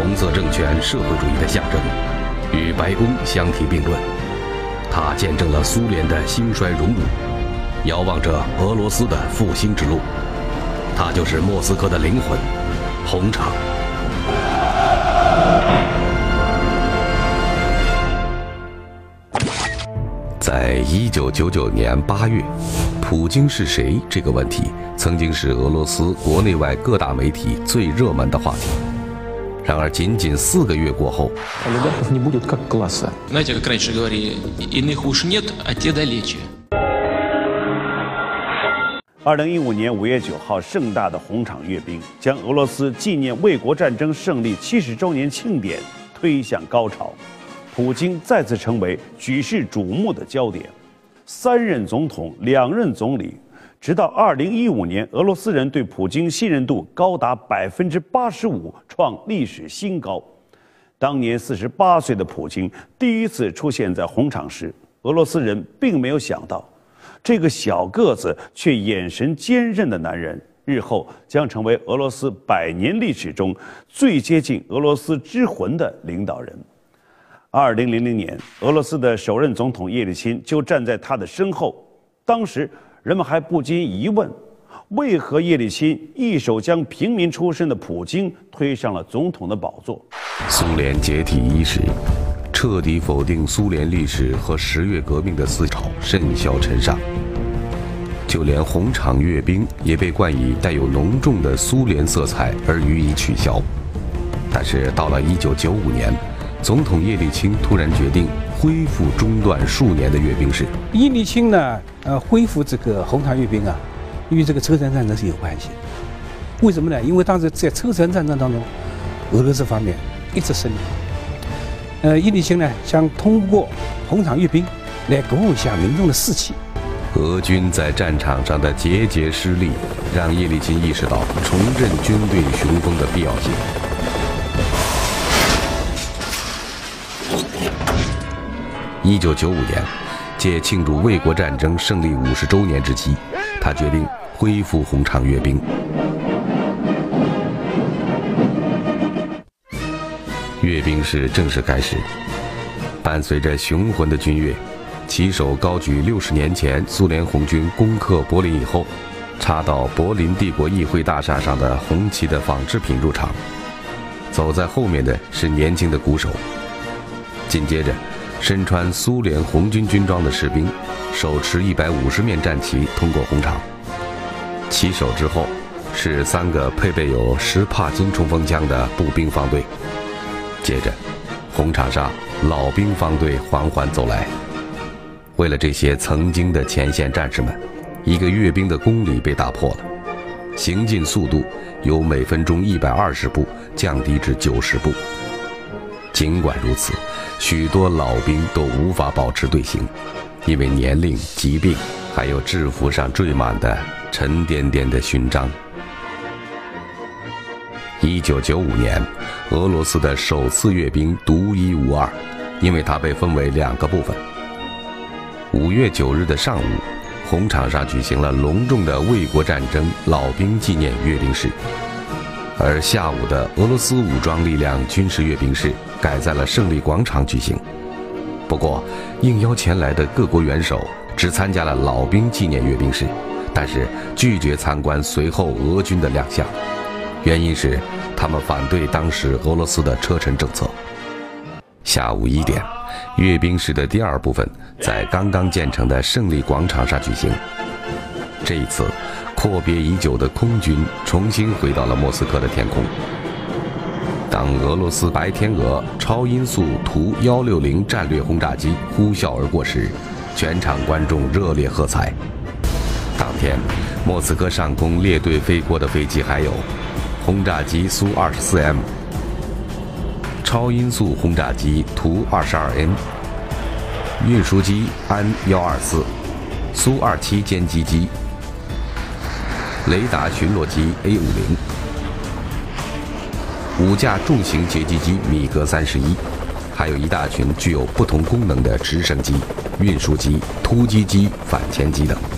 红色政权社会主义的象征，与白宫相提并论。它见证了苏联的兴衰荣辱，遥望着俄罗斯的复兴之路。它就是莫斯科的灵魂，红场。在1999年8月，普京是谁这个问题，曾经是俄罗斯国内外各大媒体最热门的话题。然而，仅仅4个月过后 ，олигархов не будет как класса. Знаете, как раньше говорили, иных уж нет, а те далече. 2015年5月9号，盛大的红场阅兵将俄罗斯纪念卫国战争胜利70周年庆典推向高潮，普京再次成为举世瞩目的焦点。3任总统，2任总理，直到2015年，俄罗斯人对普京信任度高达85%，创历史新高。当年48岁的普京第一次出现在红场时，俄罗斯人并没有想到，这个小个子却眼神坚韧的男人，日后将成为俄罗斯100年历史中最接近俄罗斯之魂的领导人。2000年，俄罗斯的首任总统叶利钦就站在他的身后。当时人们还不禁疑问，为何叶利钦一手将平民出身的普京推上了总统的宝座？ 苏联解体伊始，彻底否定苏联历史和10月革命的思潮甚嚣尘上，就连红场阅兵也被冠以带有浓重的苏联色彩而予以取消。但是到了1995年，总统叶利钦突然决定恢复中断数年的阅兵式。 叶利钦呢，恢复这个红场阅兵啊，与这个车臣战争是有关系。为什么呢？因为当时在车臣战争当中，俄罗斯方面一直胜利。叶利钦呢，想通过红场阅兵来鼓舞一下民众的士气。 俄军在战场上的节节失利，让叶利钦意识到重振军队雄风的必要性。1995年，借庆祝卫国战争胜利50周年之际，他决定恢复红场阅兵。阅兵式正式开始，伴随着雄浑的军乐，旗手高举60年前苏联红军攻克柏林以后，插到柏林帝国议会大厦上的红旗的仿制品入场。走在后面的是年轻的鼓手，紧接着身穿苏联红军军装的士兵手持150面战旗通过红场，旗手之后是3个配备有10帕金冲锋枪的步兵方队。接着红场上老兵方队缓缓走来。为了这些曾经的前线战士们，一个阅兵的公理被打破了，行进速度由每分钟120步降低至90步。尽管如此，许多老兵都无法保持队形，因为年龄、疾病，还有制服上缀满的沉甸甸的勋章。1995年，俄罗斯的首次阅兵独一无二，因为它被分为2个部分。5月9日的上午，红场上举行了隆重的卫国战争老兵纪念阅兵式，而下午的俄罗斯武装力量军事阅兵式改在了胜利广场举行。不过，应邀前来的各国元首只参加了老兵纪念阅兵式，但是拒绝参观随后俄军的亮相，原因是他们反对当时俄罗斯的车臣政策。下午1点，阅兵式的第2部分在刚刚建成的胜利广场上举行。这一次，阔别已久的空军重新回到了莫斯科的天空。当俄罗斯白天鹅超音速图160战略轰炸机呼啸而过时，全场观众热烈喝彩。当天，莫斯科上空列队飞过的飞机还有轰炸机苏24M、超音速轰炸机图22N、运输机安124、苏27歼击机、雷达巡逻机 A50、5架重型截击机米格31，还有一大群具有不同功能的直升机、运输机、突击机、反潜机等。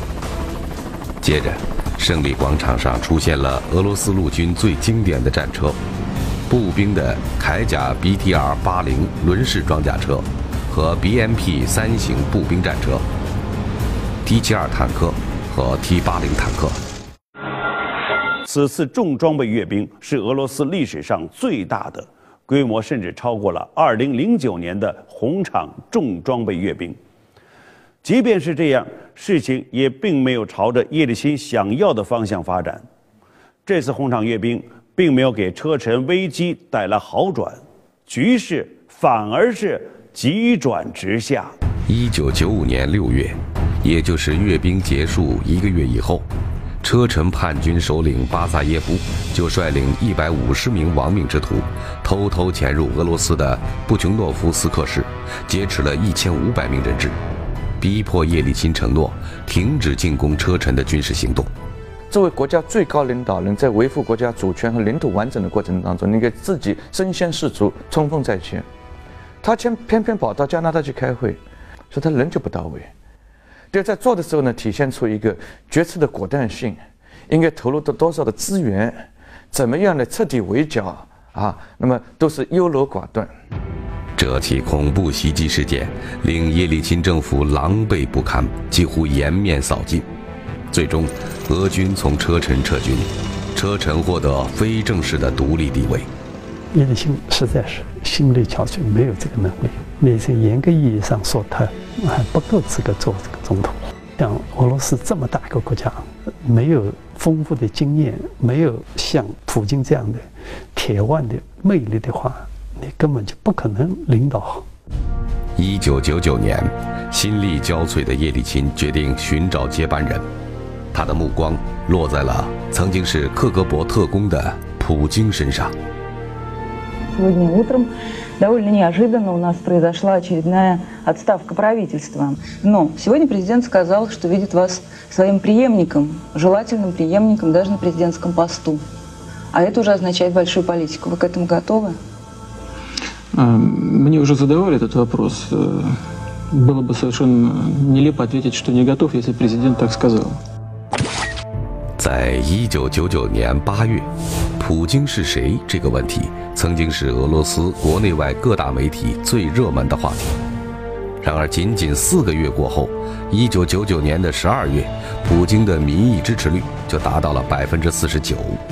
接着，胜利广场上出现了俄罗斯陆军最经典的战车， 步兵的铠甲 BTR-80轮式装甲车和 BMP-3型步兵战车、T-72坦克和 T-80坦克。 此次重装备阅兵是俄罗斯历史上最大的，规模甚至超过了2009年的红场重装备阅兵。即便是这样，事情也并没有朝着叶利钦想要的方向发展。这次红场阅兵并没有给车臣危机带来好转，局势反而是急转直下。 1995年6月，也就是阅兵结束1个月以后，车臣叛军首领巴萨耶夫就率领150名亡命之徒，偷偷潜入俄罗斯的布琼诺夫斯克市，劫持了1500名人质，逼迫叶利钦承诺停止进攻车臣的军事行动。 作为国家最高领导人，在维护国家主权和领土完整的过程当中，你给自己身先士卒，冲锋在前。他偏偏跑到加拿大去开会，说他人就不到位。对，在做的时候呢，体现出一个决策的果断性，应该投入多少的资源，怎么样的彻底围剿啊，那么都是优柔寡断。 这起恐怖袭击事件令叶利钦政府狼狈不堪，几乎颜面扫尽。最终，俄军从车臣撤军，车臣获得非正式的独立地位。 叶利钦实在是心力憔悴，没有这个能力。那些严格意义上说，他还不够资格做这个总统。像俄罗斯这么大一个国家，没有丰富的经验，没有像普京这样的铁腕的魅力的话，你根本就不可能领导好。 1999年，心力交瘁的叶利钦决定寻找接班人，他的目光落在了曾经是克格勃特工的普京身上。 Сегодня утром довольно неожиданно у нас произошла очередная отставка правительства. Но сегодня президент сказал, что видит вас своим преемником, желательным преемником даже на президентском посту. А это уже означает большую политику. Вы к этому готовы? Мне уже задавали этот вопрос. Было бы совершенно нелепо ответить, что не готов, если президент так сказал. 在1999年8月，普京是谁这个问题曾经是俄罗斯国内外各大媒体最热门的话题。然而，仅仅4个月过后，1999年的12月，普京的民意支持率就达到了49%。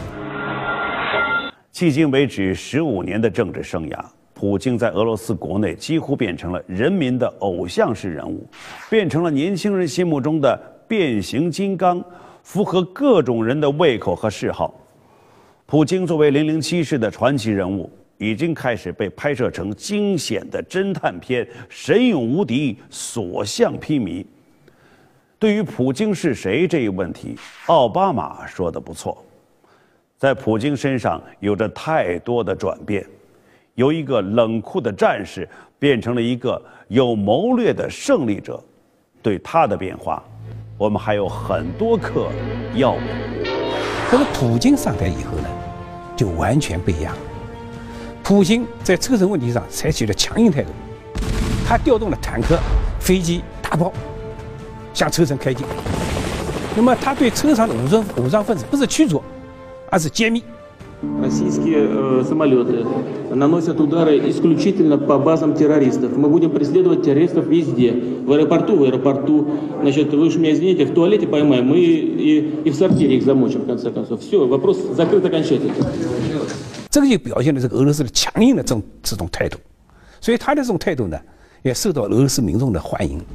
迄今为止15年的政治生涯，普京在俄罗斯国内几乎变成了人民的偶像式人物，变成了年轻人心目中的变形金刚，符合各种人的胃口和嗜好。普京作为007式的传奇人物，已经开始被拍摄成惊险的侦探片，神勇无敌，所向披靡。对于普京是谁这一问题，奥巴马说得不错，在普京身上有着太多的转变，由一个冷酷的战士变成了一个有谋略的胜利者。对他的变化，我们还有很多课要补。 可是普京上台以后呢，就完全不一样。普京在车臣问题上采取了强硬态度，他调动了坦克、飞机、大炮向车臣开进。那么他对车上的武装分子不是驱逐，而是歼灭。 Российские самолеты наносят удары исключительно по базам террористов. Мы будем преследовать террористов везде. В аэропорту. Значит, вы уж меня извините, в туалете поймаем, мы и в сортире их замочим, в конце концов. Все, вопрос закрыт окончательно. 这个就表现了这个俄罗斯的强硬的这种态度，所以他的这种态度呢，也受到俄罗斯民众的欢迎。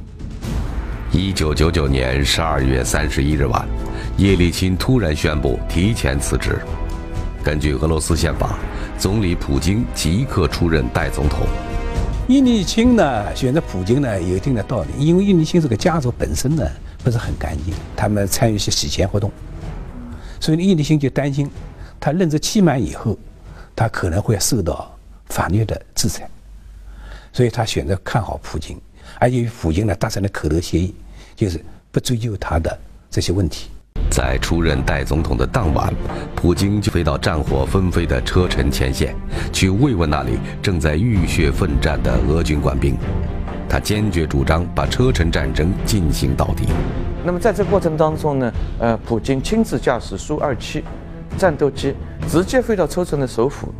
1999年12月31日晚，叶利钦突然宣布提前辞职。根据俄罗斯宪法，总理普京即刻出任代总统。 叶利钦呢选择普京呢有一定的道理，因为叶利钦这个家族本身呢不是很干净，他们参与一些洗钱活动，所以叶利钦就担心他任职期满以后，他可能会受到法律的制裁，所以他选择看好普京，而且与普京呢达成了口头协议，就是不追究他的这些问题。 在出任代总统的当晚，普京就飞到战火纷飞的车臣前线，去慰问那里正在浴血奋战的俄军官兵。他坚决主张把车臣战争进行到底。 那么在这个过程当中呢，普京亲自驾驶苏-27战斗机，直接飞到车臣的首府，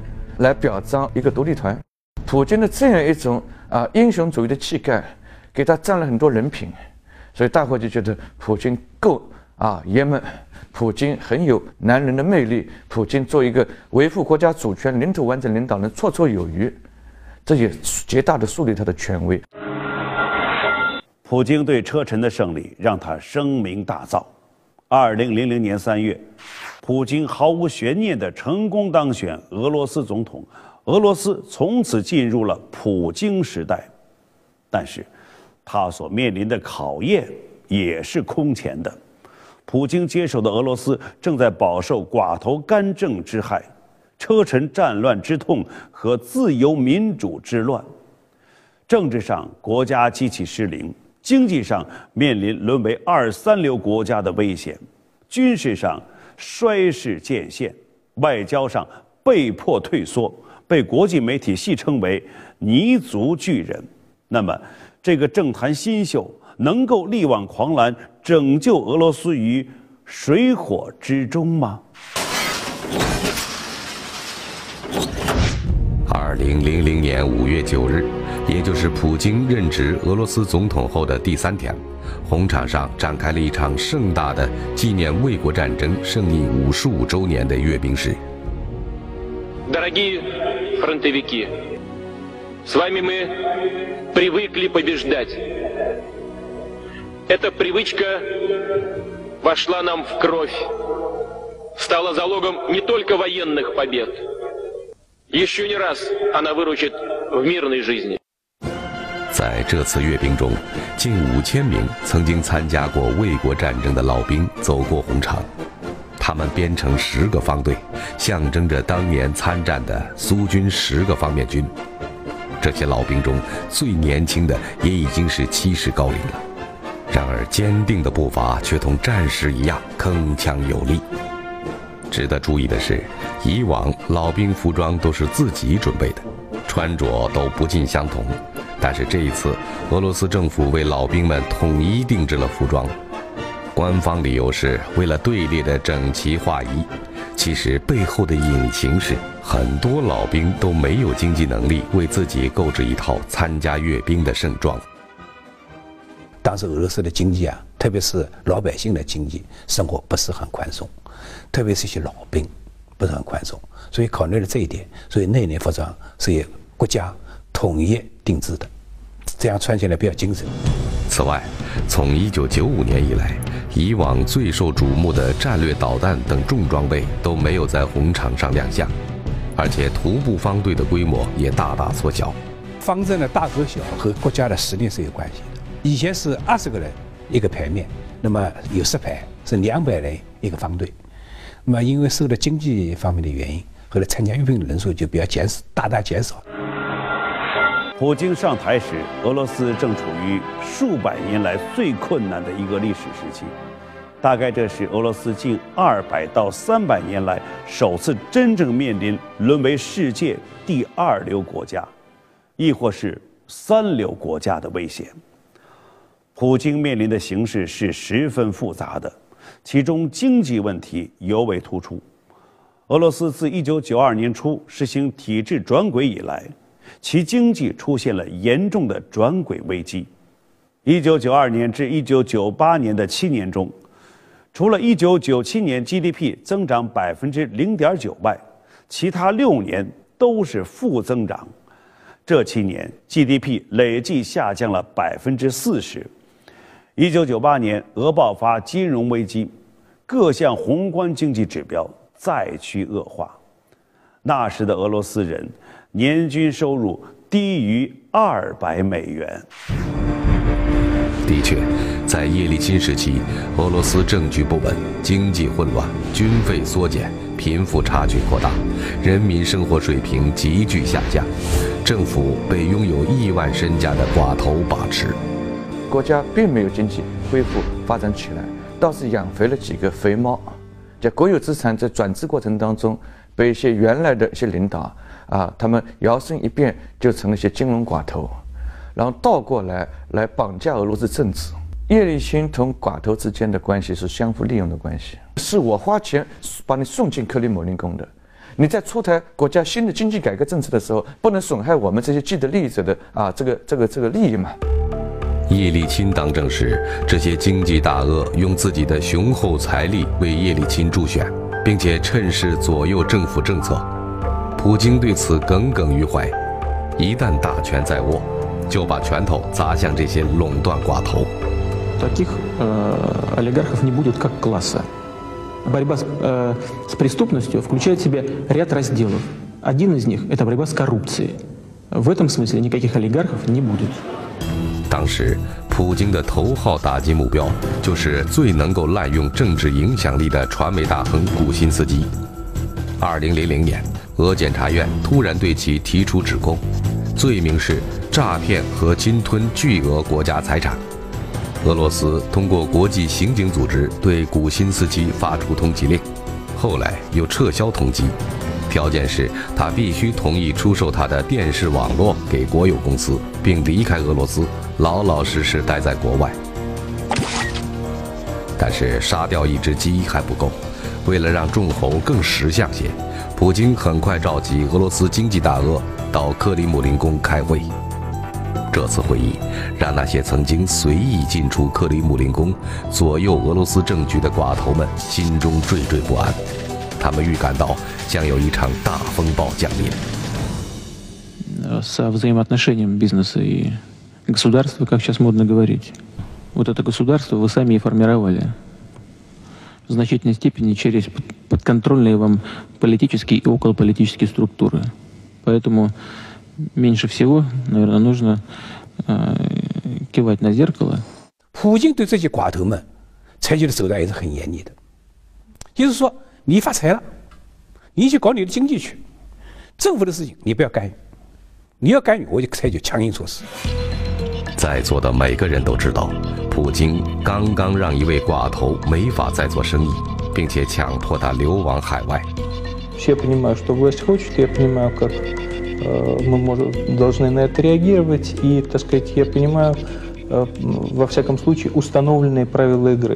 来表彰一个独立团。普京的这样一种英雄主义的气概，给他占了很多人品，所以大伙就觉得普京够爷们，普京很有男人的魅力，普京做一个维护国家主权、领土完整领导人绰绰有余，这也极大的树立他的权威。 普京对车臣的胜利让他声名大噪。2000年3月，普京毫无悬念地成功当选俄罗斯总统，俄罗斯从此进入了普京时代。但是，他所面临的考验也是空前的。普京接手的俄罗斯正在饱受寡头干政之害、车臣战乱之痛和自由民主之乱。政治上，国家机器失灵。经济上面临沦为2、3流国家的危险，军事上衰势渐现，外交上被迫退缩，被国际媒体戏称为“泥足巨人”。那么，这个政坛新秀能够力挽狂澜，拯救俄罗斯于水火之中吗 ？2000年5月9日。也就是普京任职俄罗斯总统后的第3天，红场上展开了一场盛大的纪念卫国战争胜利55周年的阅兵式。 Дорогие фронтовики, с вами мы привыкли побеждать. Эта привычка вошла нам в кровь, стала залогом не только военных побед. Еще не раз она выручит в мирной жизни. 在这次阅兵中，近5000名曾经参加过卫国战争的老兵走过红场，他们编成10个方队，象征着当年参战的苏军10个方面军。这些老兵中最年轻的也已经是70高龄了，然而坚定的步伐却同战士一样铿锵有力。值得注意的是，以往老兵服装都是自己准备的，穿着都不尽相同。但是这一次，俄罗斯政府为老兵们统一定制了服装，官方理由是为了队列的整齐划一，其实背后的隐情是，很多老兵都没有经济能力为自己购置一套参加阅兵的盛装。 当时俄罗斯的经济特别是老百姓的经济生活不是很宽松，特别是一些老兵不是很宽松，所以考虑了这一点，所以那年服装是由国家统一定制的，这样穿起来比较精神。 此外，从1995年以来，以往最受瞩目的战略导弹等重装备都没有在红场上亮相，而且徒步方队的规模也大大缩小。 方阵的大和小和国家的实力是有关系的。以前是20个人一个排面，那么有10排是200人一个方队。那么因为受到经济方面的原因，后来参加阅兵的人数就比较大大减少。 普京上台时，俄罗斯正处于数百年来最困难的一个历史时期，大概这是俄罗斯近200到300年来首次真正面临沦为世界第2流国家，亦或是3流国家的危险。普京面临的形势是十分复杂的，其中经济问题尤为突出。俄罗斯自1992年初实行体制转轨以来，其经济出现了严重的转轨危机。1992年至1998年的7年中，除了1997年 GDP 增长0.9%外，其他6年都是负增长。这7年 GDP 累计下降了40%。1998年，俄爆发金融危机，各项宏观经济指标再趋恶化。那时的俄罗斯人年均收入低于$200。 的确，在叶利钦时期，俄罗斯政局不稳，经济混乱，军费缩减，贫富差距扩大，人民生活水平急剧下降，政府被拥有亿万身家的寡头把持。 国家并没有经济恢复发展起来，倒是养肥了几个肥猫。在国有资产在转制过程当中，被一些原来的一些领导他们摇身一变就成了一些金融寡头，然后倒过来绑架俄罗斯政治。叶利钦同寡头之间的关系是相互利用的关系，是我花钱把你送进克里姆林宫的， 你在出台国家新的经济改革政策的时候，不能损害我们这些既得利益者的这个利益嘛。 叶利钦当政时，这些经济大鳄用自己的雄厚财力为叶利钦助选，并且趁势左右政府政策。普京对此耿耿于怀，一旦大权在握，就把拳头砸向这些垄断寡头。 Таких олигархов не будет как класса. Борьба с преступностью включает в себя ряд разделов. Один из них – это борьба с коррупцией. В этом смысле никаких олигархов не будет. 当时，普京的头号打击目标就是最能够滥用政治影响力的传媒大亨古辛斯基。2000年，俄检察院突然对其提出指控，罪名是诈骗和侵吞巨额国家财产。俄罗斯通过国际刑警组织对古辛斯基发出通缉令，后来又撤销通缉，条件是他必须同意出售他的电视网络给国有公司，并离开俄罗斯，老老实实待在国外。但是杀掉一只鸡还不够，为了让众猴更识相些，普京很快召集俄罗斯经济大鳄到克里姆林宫开会。这次会议让那些曾经随意进出克里姆林宫、左右俄罗斯政局的寡头们心中惴惴不安，他们预感到将有一场大风暴降临。 Со взаимоотношением бизнеса и государства, как сейчас модно говорить. Вот это государство вы сами и формировали. В значительной степени через подконтрольные вам политические и околополитические структуры. Поэтому меньше всего, наверное, нужно кивать на зеркало. 普京对这些寡头们采取的手段也是很严厉的，就是说，你发财了，你去搞你的经济去，政府的事情你不要干预，你要干预我就采取强硬措施。 在座的每个人都知道，普京刚刚让一位寡头没法再做生意，并且强迫他流亡海外。 Я понимаю, что власть хочет, я понимаю, как мы должны на это реагировать, и, так сказать, я понимаю, во всяком случае, установленные правила игры.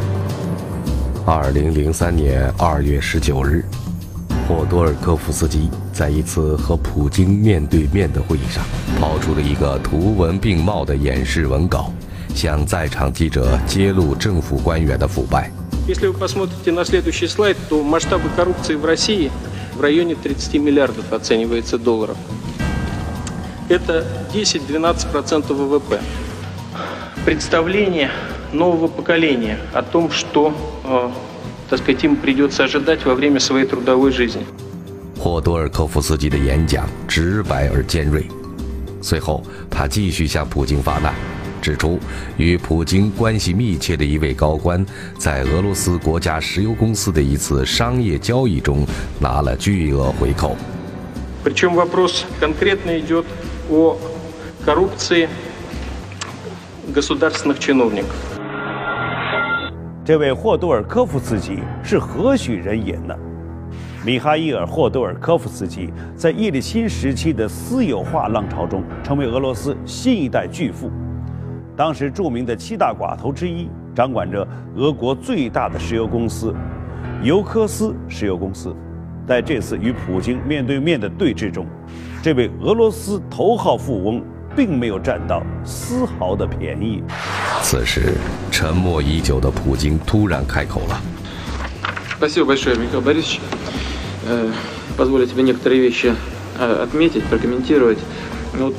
2003年2月19日，霍多尔科夫斯基在一次和普京面对面的会议上，抛出了一个图文并茂的演示文稿，向在场记者揭露政府官员的腐败。 Если вы посмотрите на следующий слайд, то масштабы коррупции в России в районе 30 миллиардов оценивается долларов. Это 10-12% ВВП. Представление нового поколения о том, что, так сказать, им придется ожидать во время своей трудовой жизни. 霍多尔科夫斯基的演讲直白而尖锐，随后他继续向普京发难，指出与普京关系密切的一位高官在俄罗斯国家石油公司的一次商业交易中拿了巨额回扣。 Причем вопрос конкретно идет о коррупции государственных чиновников. 这位霍多尔科夫斯基是何许人也呢？米哈伊尔·霍多尔科夫斯基在叶利钦时期的私有化浪潮中，成为俄罗斯新一代巨富。当时著名的7大寡头之一，掌管着俄国最大的石油公司尤科斯石油公司。在这次与普京面对面的对峙中，这位俄罗斯头号富翁并没有占到丝毫的便宜。 此时，沉默已久的普京突然开口了。 Спасибо большое, Михаил Борисович. Позволю тебе некоторые вещи отметить, прокомментировать. Вот,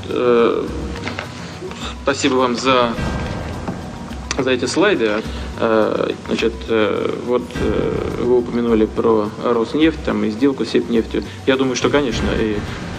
спасибо вам за эти слайды. Значит, вот вы упомянули про Роснефть там, и сделку с Сибнефтью. Я думаю, что, конечно, и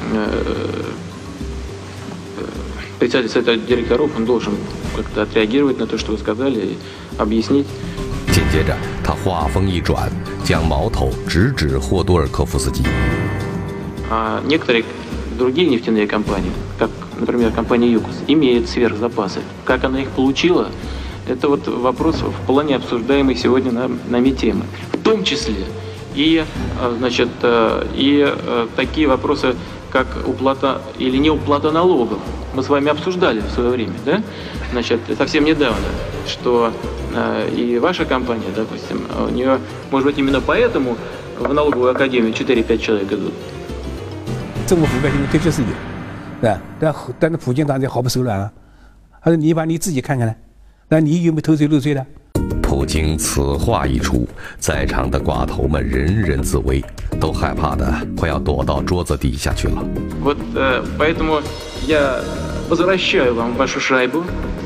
председатель совета директоров, он должен как-то отреагировать на то, что вы сказали, и объяснить. 紧接着，他话锋一转，将矛头直指霍多尔科夫斯基。 Некоторые другие нефтяные компании, как, например, компания ЮКОС, имеют сверхзапасы. Как она их получила, это вот вопрос в плане обсуждаемой сегодня нами темы. В том числе и, значит, и такие вопросы, как уплата или неуплата налогов. Мы с вами обсуждали в свое время, да? Значит, совсем недавно, что и ваша компания, допустим, у нее, может быть, именно поэтому в налоговую академию 4-5 человек идут. 政府覆盖性的确是有，对吧？但是普京当然毫不手软啊，他说你把你自己看看呢，那你有没有偷税漏税的？ 普京此话一出，在场的寡头们人人自危，都害怕的快要躲到桌子底下去了。 Вот поэтому я возвращаю вам вашу шайбу.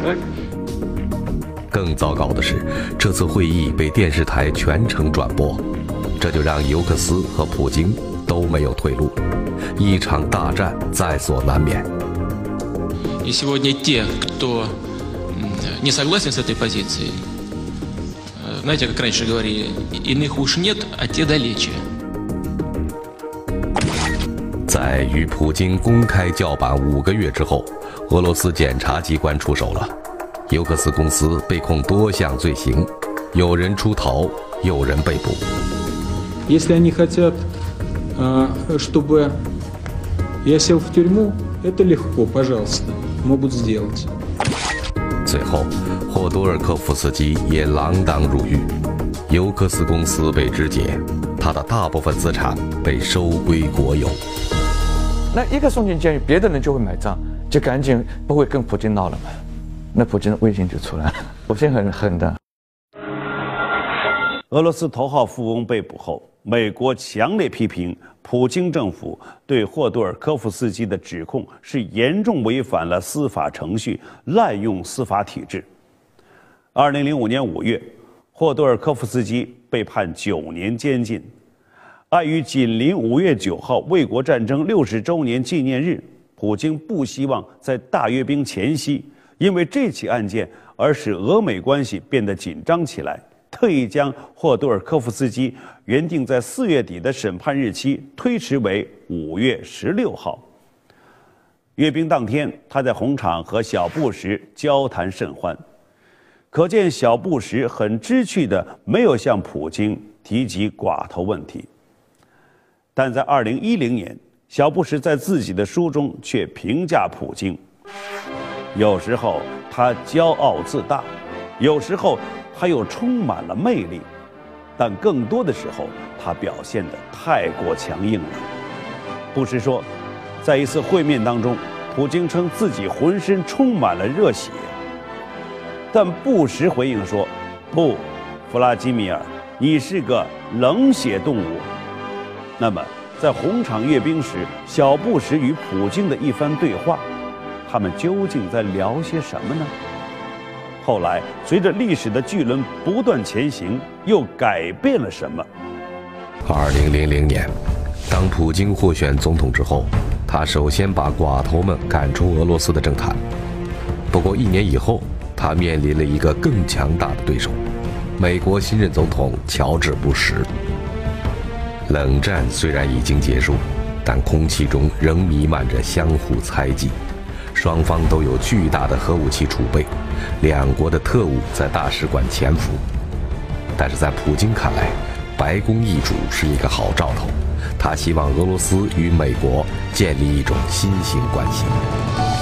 更糟糕的是，这次会议被电视台全程转播，这就让尤克斯和普京都没有退路，一场大战在所难免。 И сегодня те, кто не согласен с этой позицией, знаете, как раньше говорили, иных уж нет, а те далече. 在与普京公开叫板5个月之后，俄罗斯检察机关出手了，尤克斯公司被控多项罪行，有人出逃，有人被捕。 Если они хотят, чтобы я сел в тюрьму, это легко, пожалуйста, могут сделать. 最后，霍多尔科夫斯基也锒铛入狱，尤克斯公司被肢解，他的大部分资产被收归国有。 那一个送进监狱，别的人就会买账，就赶紧不会跟普京闹了嘛。那普京的威信就出来了，普京很狠的。 俄罗斯头号富翁被捕后，美国强烈批评普京政府对霍多尔科夫斯基的指控是严重违反了司法程序，滥用司法体制。2005年5月，霍多尔科夫斯基被判9年监禁。碍于紧邻5月9号卫国战争60周年纪念日，普京不希望在大阅兵前夕因为这起案件而使俄美关系变得紧张起来，特意将霍多尔科夫斯基原定在4月底的审判日期推迟为5月16号。阅兵当天，他在红场和小布什交谈甚欢，可见小布什很知趣的没有向普京提及寡头问题。但在2010年，小布什在自己的书中却评价普京：有时候他骄傲自大，有时候他又充满了魅力，但更多的时候他表现得太过强硬了。布什说，在一次会面当中，普京称自己浑身充满了热血，但布什回应说：“不，弗拉基米尔，你是个冷血动物。”那么，在红场阅兵时，小布什与普京的一番对话，他们究竟在聊些什么呢？后来，随着历史的巨轮不断前行，又改变了什么 ？2000年，当普京获选总统之后，他首先把寡头们赶出俄罗斯的政坛。不过1年以后，他面临了一个更强大的对手——美国新任总统乔治·布什。冷战虽然已经结束，但空气中仍弥漫着相互猜忌。双方都有巨大的核武器储备，两国的特务在大使馆潜伏。但是在普京看来，白宫易主是一个好兆头，他希望俄罗斯与美国建立一种新型关系。